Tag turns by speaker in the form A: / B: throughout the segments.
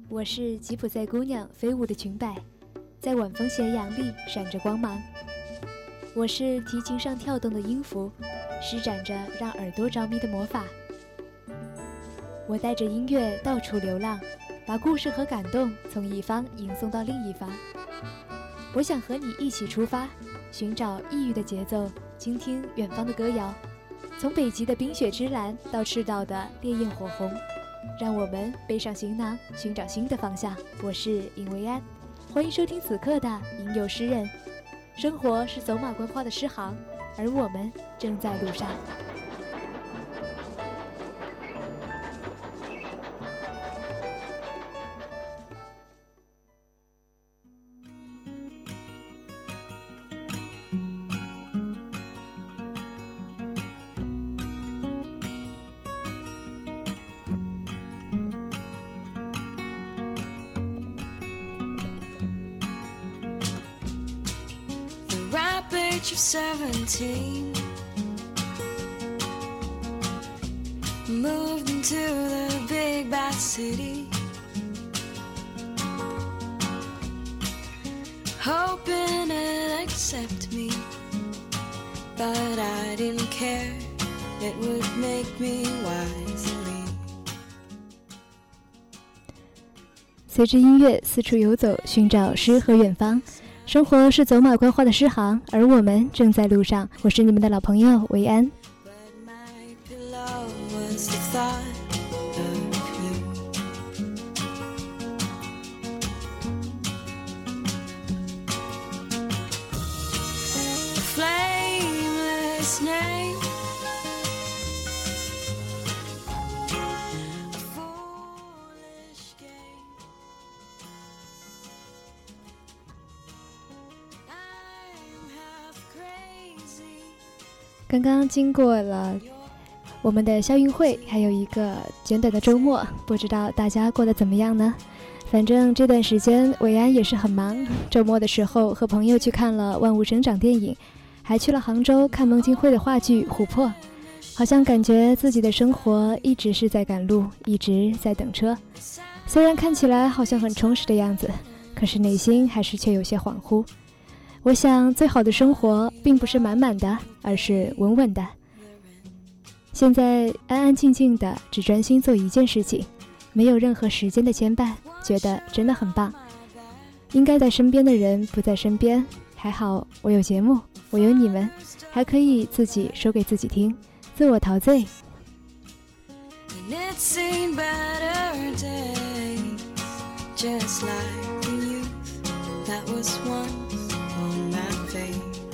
A: 我是吉普赛姑娘飞舞的裙摆，在晚风斜阳里闪着光芒。我是提琴上跳动的音符，施展着让耳朵着迷的魔法。我带着音乐到处流浪，把故事和感动从一方迎送到另一方。我想和你一起出发，寻找异域的节奏，倾听远方的歌谣。从北极的冰雪之蓝到赤道的烈焰火红，让我们背上行囊，寻找新的方向。我是尹维安，欢迎收听此刻的吟游诗人。生活是走马观花的诗行，而我们正在路上。
B: Age of 17, moved into the big bad city, hoping it'd accept me, but I didn't care, it would make me wisely.
A: 随着音乐四处游走，寻找诗和远方。生活是走马观花的诗行，而我们正在路上。我是你们的老朋友维安。刚刚经过了我们的校运会，还有一个简短的周末，不知道大家过得怎么样呢？反正这段时间维安也是很忙，周末的时候和朋友去看了万物生长电影，还去了杭州看孟京辉的话剧《琥珀》，好像感觉自己的生活一直是在赶路，一直在等车。虽然看起来好像很充实的样子，可是内心还是却有些恍惚。我想最好的生活并不是满满的，而是稳稳的。现在安安静静的，只专心做一件事情，没有任何时间的牵绊，觉得真的很棒。应该在身边的人不在身边，还好我有节目，我有你们，还可以自己说给自己听，自我陶醉。
B: On my face,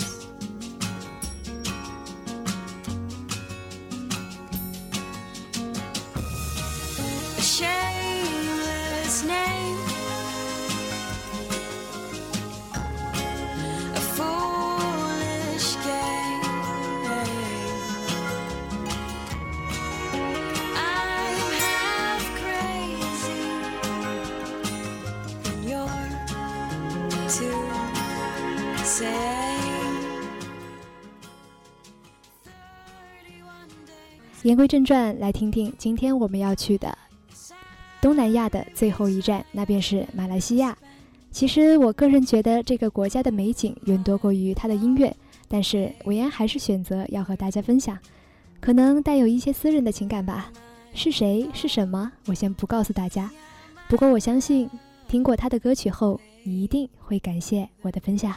B: a shameless name, a foolish game. I'm half crazy, and you're too.
A: 言归正传，来听听今天我们要去的东南亚的最后一站，那便是马来西亚。其实我个人觉得这个国家的美景远多过于它的音乐，但是维安还是选择要和大家分享，可能带有一些私人的情感吧。是谁是什么，我先不告诉大家，不过我相信听过他的歌曲后，你一定会感谢我的分享。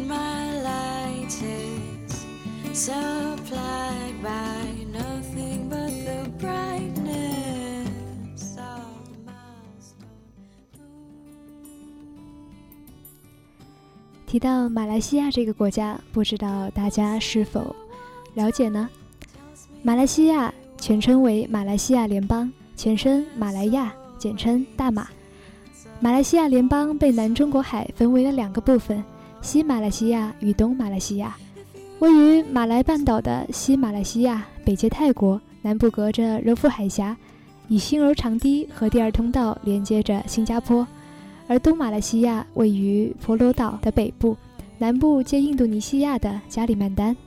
B: and my light is supplied by nothing but the brightness of the milestone moon.
A: 提到马来西亚这个国家，不知道大家是否了解呢？马来西亚全称为马来西亚联邦，前身马来亚，简称大马。马来西亚联邦被南中国海分为了2个部分，西马来西亚与东马来西亚。位于马来半岛的西马来西亚北接泰国，南部隔着柔佛海峡，以新柔长堤和第2通道连接着新加坡。而东马来西亚位于婆罗岛的北部，南部接印度尼西亚的加里曼丹。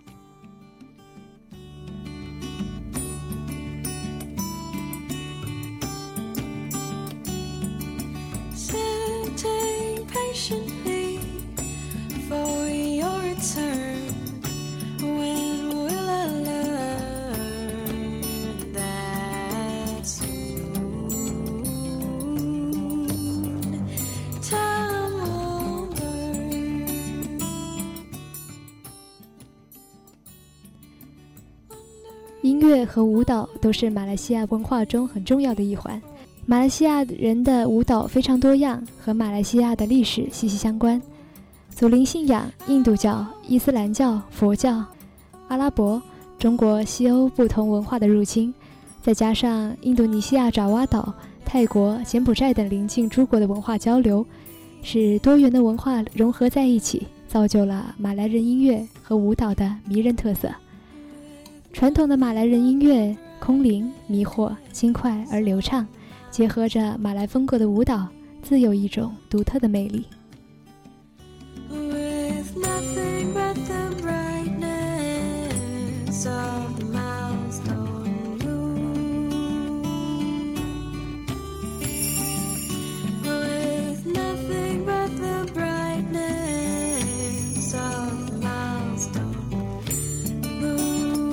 B: Sitting patiently for your return. When will I learn that soon time will burn?
A: 音乐和舞蹈都是马来西亚文化中很重要的一环。马来西亚人的舞蹈非常多样，和马来西亚的历史息息相关。祖灵信仰、印度教、伊斯兰教、佛教、阿拉伯、中国、西欧不同文化的入侵，再加上印度尼西亚爪哇岛、泰国、柬埔寨等邻近诸国的文化交流，使多元的文化融合在一起，造就了马来人音乐和舞蹈的迷人特色。传统的马来人音乐空灵、迷惑、轻快而流畅，结合着马来风格的舞蹈，自有一种独特的魅力。
B: With nothing but the brightness of the milestone moon. With nothing but the brightness of the milestone moon.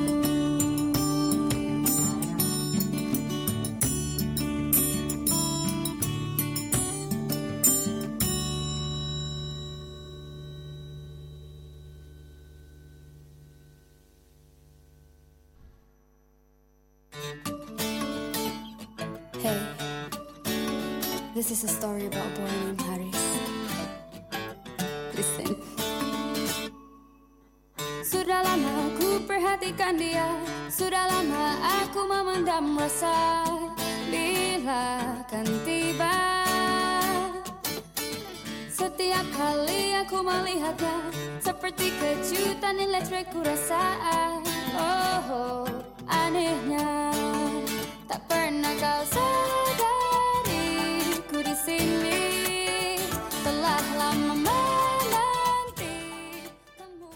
C: Hey, this is a story about a boy named Haris. Listen. Sudah lama aku perhatikan dia, sudah lama aku memendam rasa. Bila akan tiba, setiap kali aku melihatnya, seperti kejutan elektrik ku rasa. Oh, anehnya, tak pernah kau sadari ku di sini telah lama menanti kamu.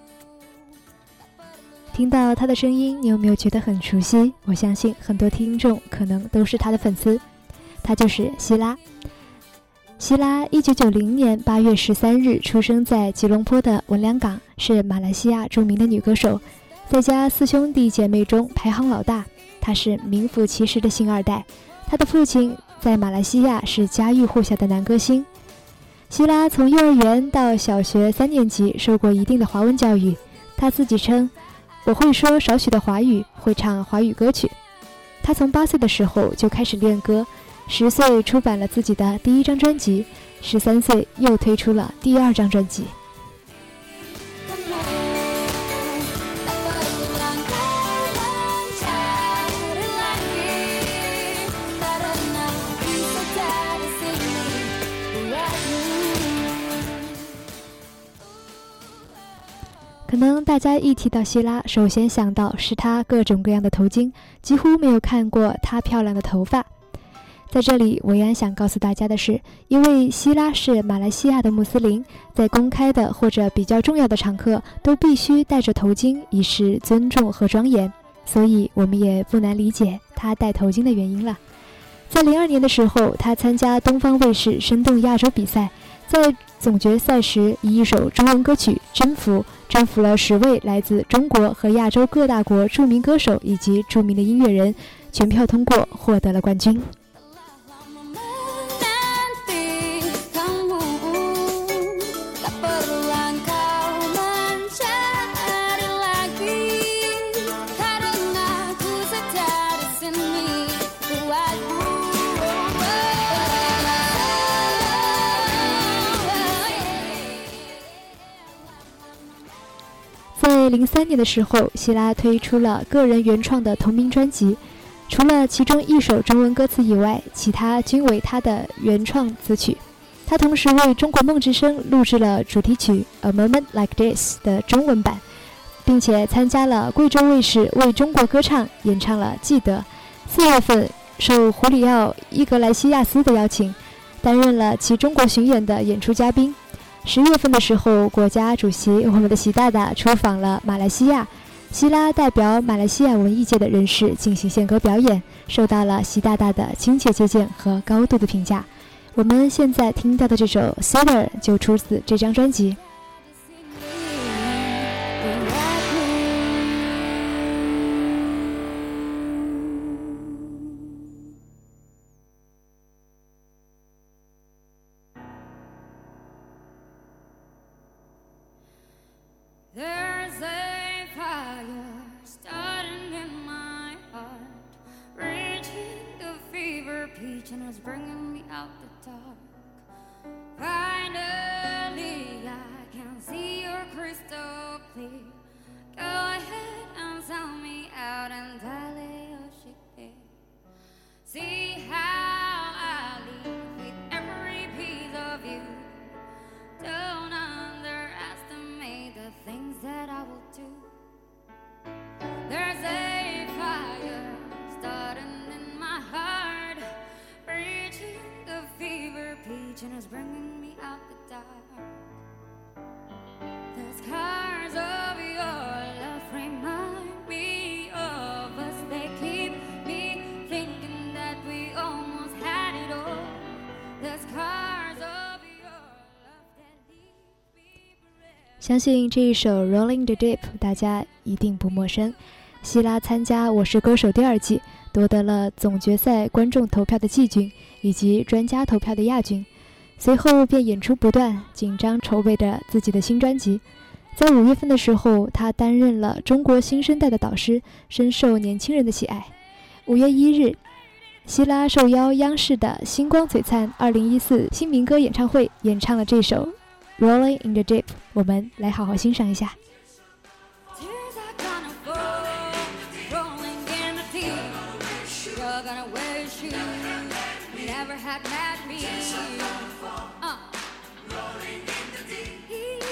A: 听到他的声音，你有没有觉得很熟悉？我相信很多听众可能都是他的粉丝。他就是希拉。希拉1990年8月13日出生在吉隆坡的文良港，是马来西亚著名的女歌手，在家4兄弟姐妹中排行老大。她是名副其实的星二代，她的父亲在马来西亚是家喻户晓的男歌星。希拉从幼儿园到小学3年级受过一定的华文教育，她自己称：“我会说少许的华语，会唱华语歌曲。”她从8岁的时候就开始练歌，10岁出版了自己的第1张专辑，13岁又推出了第2张专辑。可能大家一提到希拉，首先想到是她各种各样的头巾，几乎没有看过她漂亮的头发。在这里，维安想告诉大家的是，因为希拉是马来西亚的穆斯林，在公开的或者比较重要的场合都必须戴着头巾，以示尊重和庄严，所以我们也不难理解她戴头巾的原因了。在02年的时候，她参加东方卫视生动亚洲比赛，在总决赛时以一首中文歌曲征服了10位来自中国和亚洲各大国著名歌手以及著名的音乐人，全票通过，获得了冠军。
C: Tak
A: 在03年的时候，希拉推出了个人原创的同名专辑，除了其中一首中文歌词以外，其他均为他的原创词曲。他同时为中国梦之声录制了主题曲《A Moment Like This》的中文版，并且参加了贵州卫视为中国歌唱演唱了《记得》。4月份受胡里奥·伊格莱西亚斯的邀请，担任了其中国巡演的演出嘉宾。10月份的时候，国家主席我们的习大大出访了马来西亚，希拉代表马来西亚文艺界的人士进行献歌表演，受到了习大大的亲切接见和高度的评价。我们现在听到的这首《Cedar》就出自这张专辑。
C: There's a fire starting in my heart, reaching the fever pitch and it's bringing me out the dark. Finally, I can see your crystal clear. Go ahead and sell me out and dally your ship there. See how I live with every piece of you. Don't underestimate the things that I will do. There's a fire starting in my heart, reaching the fever pitch and it's bringing me out the dark. The scars of your love remind me of us. They keep me thinking that we almost had it all. The scars of your love that leave me forever.
A: 相信这一首《Rolling the Deep》大家一定不陌生。希拉参加《我是歌手》第2季，夺得了总决赛观众投票的季军以及专家投票的亚军，随后便演出不断，紧张筹备着自己的新专辑。在5月份的时候，他担任了中国新生代的导师，深受年轻人的喜爱。5月1日，希拉受邀央视的星光璀璨2014新民歌演唱会演唱了这首《Rolling in the Deep》，我们来好好欣赏一下。
C: Tears are gonna fall, rolling in the deep. You're gonna wear shoes you never had met me. Rolling in the deep.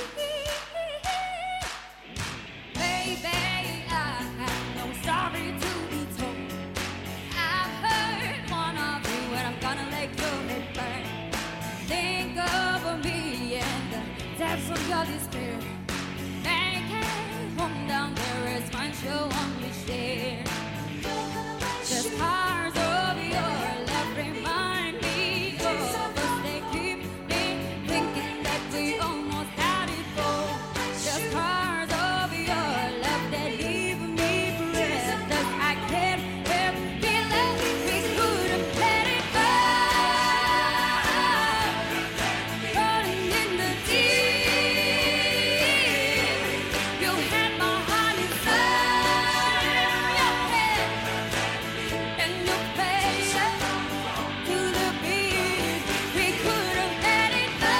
C: Baby, I have no story to be told. I've heard one of you and I'm gonna let your head burn. Think of me and the depths of your despair. Make it home down there is mine you'll only share. The scars of your love remind me of us. They keep me thinking that we almost had it all. The scars of your love that leave me breathless. I can't help feeling we could have let it go. Rolling in the deep. You had my heart inside your head, and you played to the beat. We could have let it go.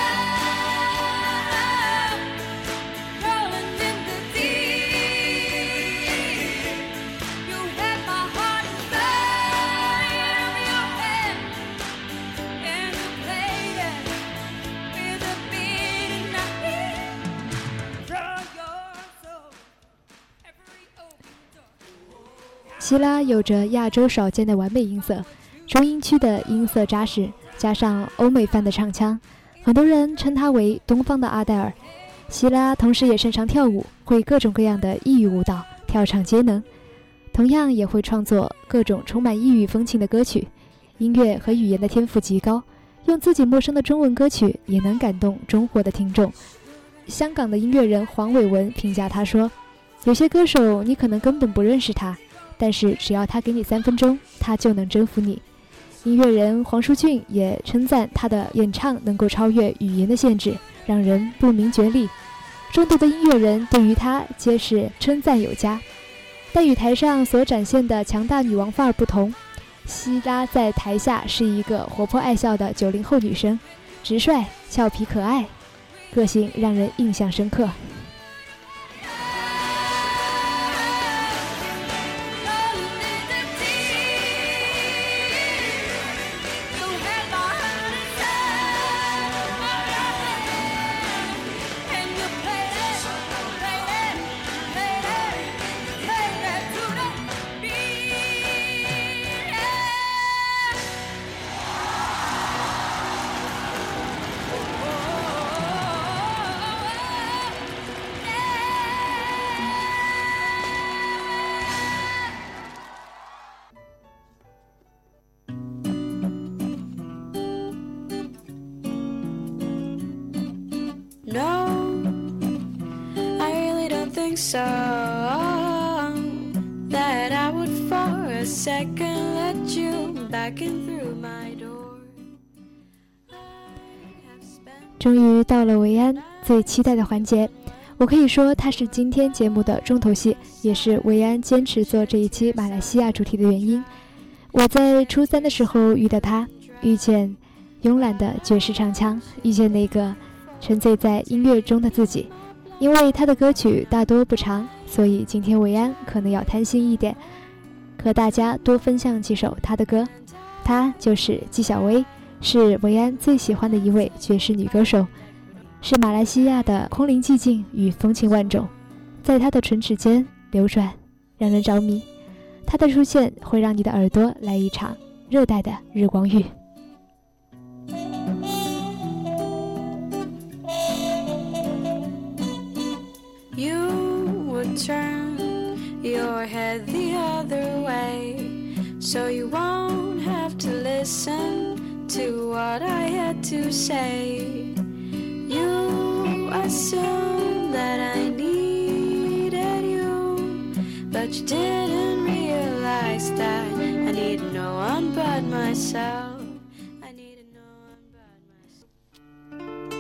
C: Rolling in the deep. You had my heart inside your head, and you played it with a beat, and I draw your soul every open door.
A: 希拉有着亚洲少见的完美音色，中音区的音色扎实，加上欧美范的唱腔，很多人称他为东方的阿黛尔。希拉同时也擅长跳舞，会各种各样的异域舞蹈，跳唱皆能，同样也会创作各种充满异域风情的歌曲。音乐和语言的天赋极高，用自己陌生的中文歌曲也能感动中国的听众。香港的音乐人黄伟文评价他说，有些歌手你可能根本不认识他，但是只要他给你3分钟，他就能征服你。音乐人黄舒骏也称赞他的演唱能够超越语言的限制，让人不明觉厉。众多的音乐人对于他皆是称赞有加。但与台上所展现的强大女王范儿不同，希拉在台下是一个活泼爱笑的90后女生，直率、俏皮、可爱，个性让人印象深刻。
B: so that I would for a second let you back in through my door.
A: 终于到了维安最期待的环节，我可以说它是今天节目的重头戏，也是维安坚持做这一期马来西亚主题的原因。我在初3的时候遇到他，遇见慵懒的爵士唱腔，遇见那个沉醉在音乐中的自己。因为他的歌曲大多不长，所以今天维安可能要贪心一点，和大家多分享几首他的歌。他就是纪晓薇，是维安最喜欢的一位爵士女歌手，是马来西亚的空灵寂静与风情万种，在她的唇齿间流转，让人着迷。她的出现会让你的耳朵来一场热带的日光浴。
B: You would turn your head the other way, so you won't have to listen to what I had to say. You assumed that I needed you, but you didn't realize that I needed no one but myself. I needed no one but myself.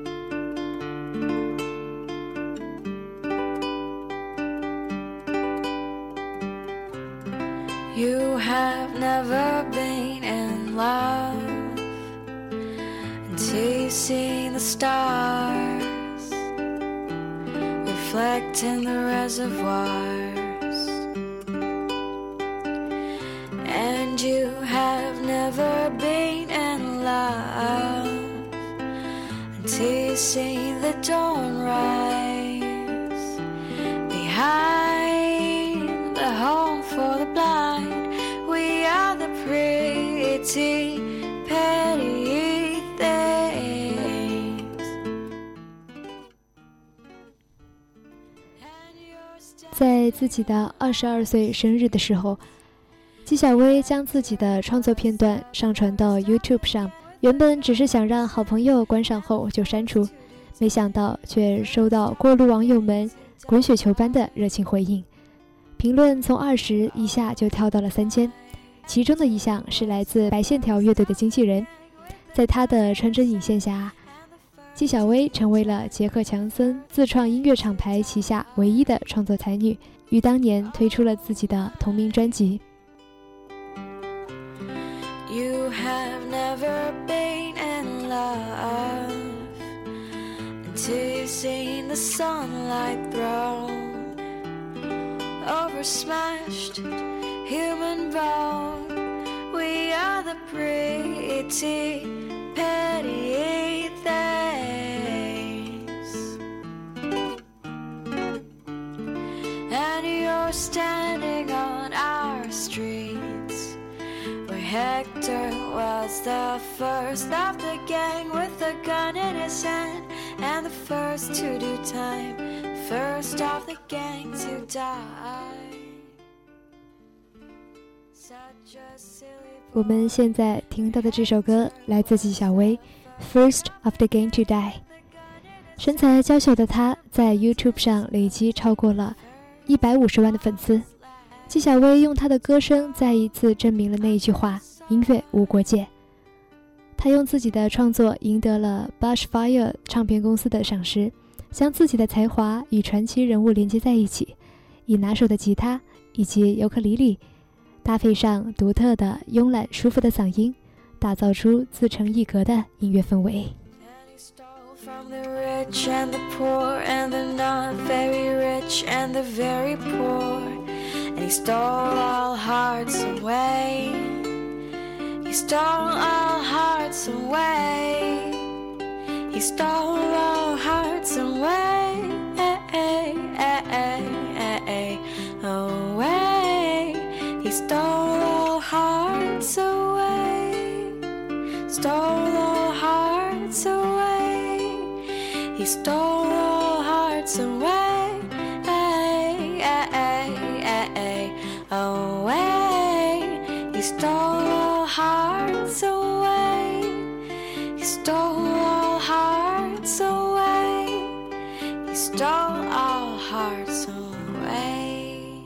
B: You have never been in love until you've seen the stars reflect in the reservoirs. And you have never been in love until you've seen the dawn rise behind the home for the blind. We are the pretty petty things.
A: 在自己的22岁生日的时候，纪晓薇将自己的创作片段上传到 YouTube 上，原本只是想让好朋友观赏后就删除，没想到却收到过路网友们滚雪球般的热情回应，评论从20以下就跳到了3000，其中的一项是来自白线条乐队的经纪人。在他的穿针引线下，纪晓薇成为了杰克强森自创音乐厂牌旗下唯一的创作才女，于当年推出了自己的同名专辑。
B: You have never been in love until you've seen the sunlight thrown over smashed human bone. We are the pretty petty things. And you're standing on our streets where Hector was the first of the gang with a gun in his hand, and the first to do time, first of the gang to die. Such a silly
A: 我们现在听到的这首歌来自纪晓薇 First of the Gang to Die。 身材娇小的她在 YouTube 上累积超过了150万的粉丝。纪晓薇用她的歌声再一次证明了那一句话，音乐无国界。她用自己的创作赢得了 Bushfire 唱片公司的赏识，将自己的才华与传奇人物连接在一起，以拿手的吉他以及尤克里里搭配上独特的慵懒舒服的嗓音，打造出自成一格的音乐氛围。
B: And he stole from the rich and the poor and the not very rich and the very poor. And he stole all hearts away. He stole all hearts away. He stole all hearts away. Away. He stole all hearts away. Stole all hearts away. He stole all hearts away. Away. He stole all hearts away. He stole all hearts away. He stole all hearts away.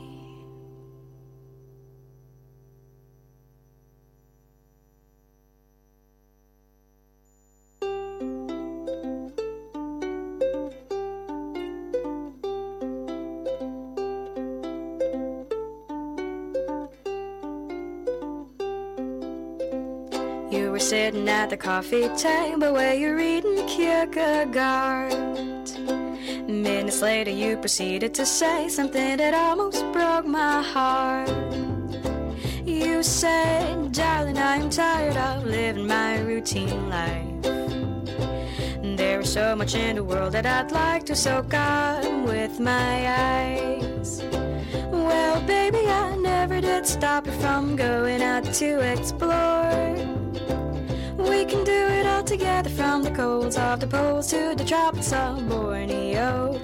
B: You were sitting at the coffee table where you're reading Kierkegaard. Minutes later you proceeded to say something that almost broke my heart. You said, darling, I'm tired of living my routine life. There is so much in the world that I'd like to soak up with my eyes. Well, baby, I never did stop you from going out to explore. We can do it all together, from the colds of the poles to the tropics of Borneo.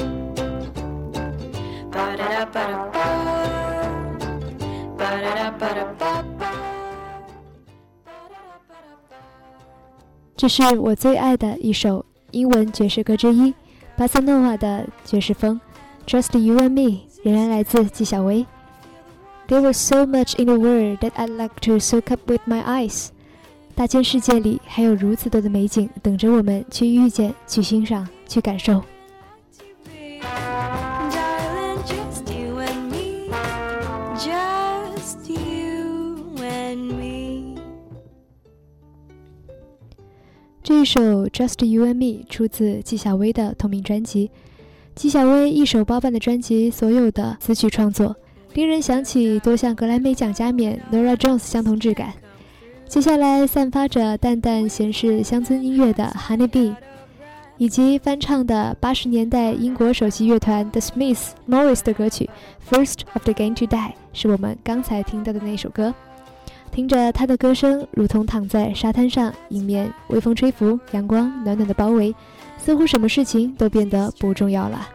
B: Ba-da-da-ba-da-ba, ba-da-da-ba-da-ba-ba.
A: 这是我最爱的一首英文爵士歌之一，巴塞诺瓦的爵士风 Just You and Me 仍然来自纪晓薇。 There was so much in the world that I'd like to soak up with my eyes. 大千世界里还有如此多的美景等着我们去遇见、去欣赏、去感受。这一首 Just You and Me 出自纪晓薇的同名专辑。纪晓薇一手包办的专辑所有的词曲创作，令人想起多项格莱美奖加冕 Norah Jones 相同质感。接下来散发着淡淡咸式乡村音乐的 Honey Bee， 以及翻唱的80年代英国首席乐团 The Smiths Morris 的歌曲 First of the Game to Die 是我们刚才听到的那首歌。听着他的歌声，如同躺在沙滩上，迎面微风吹拂，阳光暖暖的包围，似乎什么事情都变得不重要了。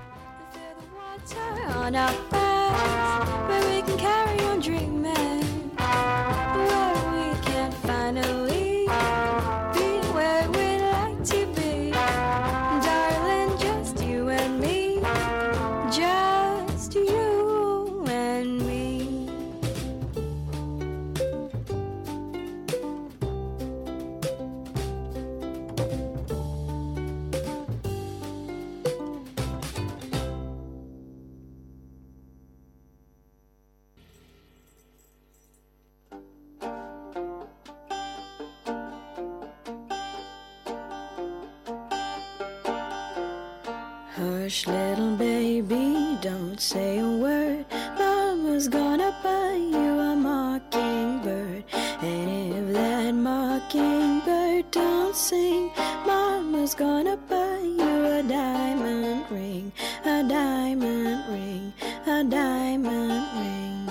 B: Hush, little baby, don't say a word. Mama's gonna buy you a mockingbird. And if that mockingbird don't sing, Mama's gonna buy you a diamond ring, a diamond ring, a diamond ring.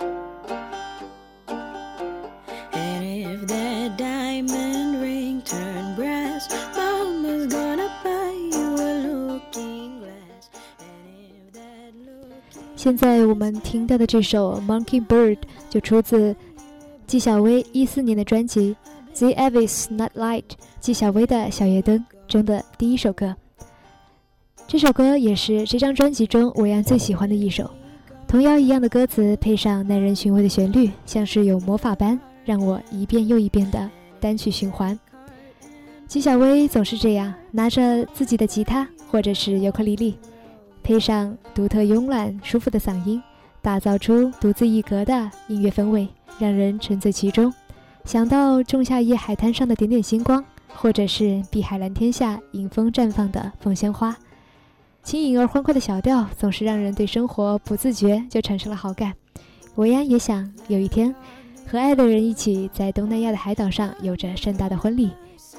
B: And if that diamond ring turn brass, Mama's gonna buy you a looking glass. And if that looking...
A: 现在我们听到的这首 Mockingbird 就出自纪晓薇14年的专辑 The Avis Nightlight 纪晓薇的小夜灯中的第一首歌。这首歌也是这张专辑中韦安最喜欢的一首，童谣一样的歌词配上耐人寻味的旋律，像是有魔法般让我一遍又一遍的单曲循环。纪晓薇总是这样，拿着自己的吉他或者是尤克里里，配上独特慵懒舒服的嗓音，打造出独自一格的音乐氛围，让人沉醉其中。想到仲夏夜海滩上的点点星光，或者是碧海蓝天下迎风绽放的凤仙花，轻盈而欢快的小调总是让人对生活不自觉就产生了好感。维安也想有一天和爱的人一起在东南亚的海岛上有着盛大的婚礼。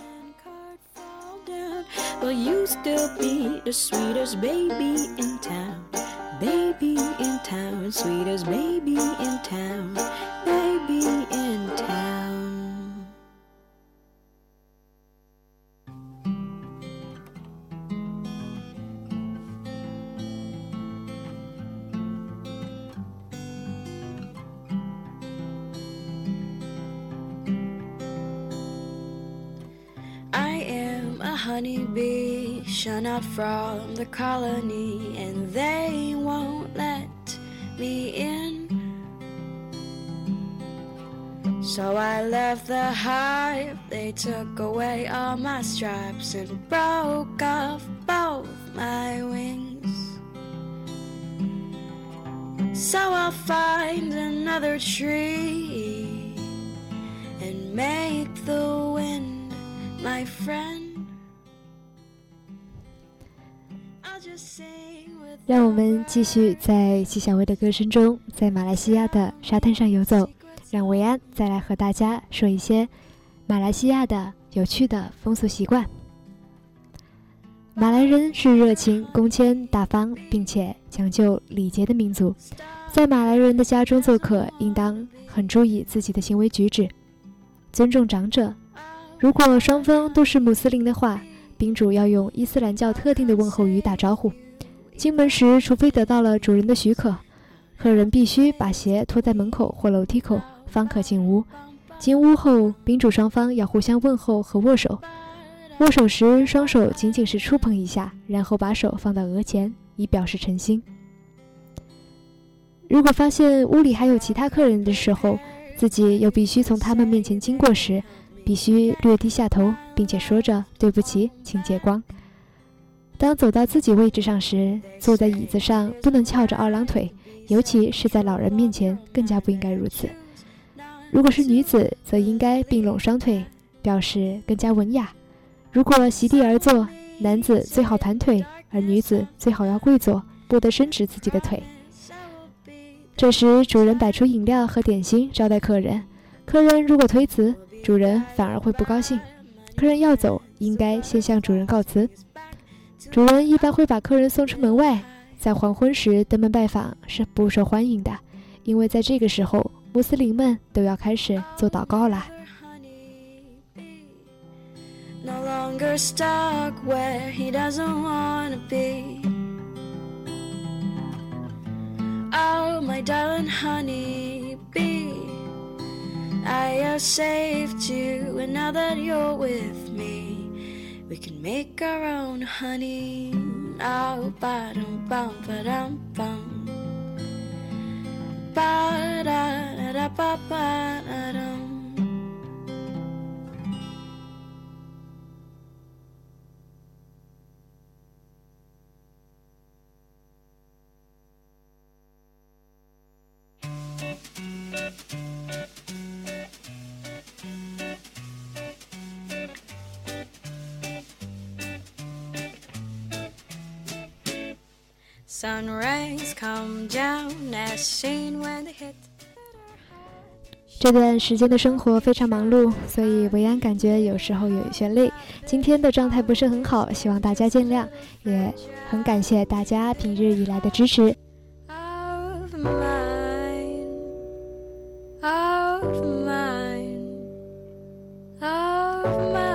B: Will you still be the sweetest baby in town? Baby in town, sweetest baby in town, baby in town. I am a honeybee shun out from the colony, and they won't let me in. So I left the hive, they took away all my stripes and broke off both my wings. So I'll find another tree and make the wind my friend. I'll just sing with
A: 让我们继续在纪晓薇的歌声中，在马来西亚的沙滩上游走。让维安再来和大家说一些马来西亚的有趣的风俗习惯。马来人是热情、恭谦、大方，并且讲究礼节的民族。在马来人的家中做客，应当很注意自己的行为举止，尊重长者。如果双方都是穆斯林的话，宾主要用伊斯兰教特定的问候语打招呼。进门时，除非得到了主人的许可，客人必须把鞋脱在门口或楼梯口，方可进屋。进屋后，宾主双方要互相问候和握手。握手时，双手仅仅是触碰一下，然后把手放到额前，以表示诚心。如果发现屋里还有其他客人的时候，自己又必须从他们面前经过时，必须略低下头，并且说着对不起，请借光。当走到自己位置上时，坐在椅子上不能翘着二郎腿，尤其是在老人面前更加不应该如此。如果是女子，则应该并拢双腿，表示更加文雅。如果席地而坐，男子最好盘腿，而女子最好要跪坐，不得伸直自己的腿。这时主人摆出饮料和点心招待客人，客人如果推辞，主人反而会不高兴。客人要走，应该先向主人告辞。主人一般会把客人送出门外，在黄昏时登门拜访是不受欢迎的，因为在这个时候穆斯林们都要开始做祷告啦。
B: No longer stuck where he doesn't want to be. Oh, my darling honey bee, I have saved you, and now that you're with me, we can make our own honey. Oh, ba-dum bum ba-dum bum, ba-da-da-ba-ba-da-dum. Sun rays come down as seen when they hit.
A: 这段时间的生活非常忙碌，所以维安感觉有时候有一些累。今天的状态不是很好，希望大家见谅，也很感谢大家平日以来的支持。
B: Of mine, of mine, of mine.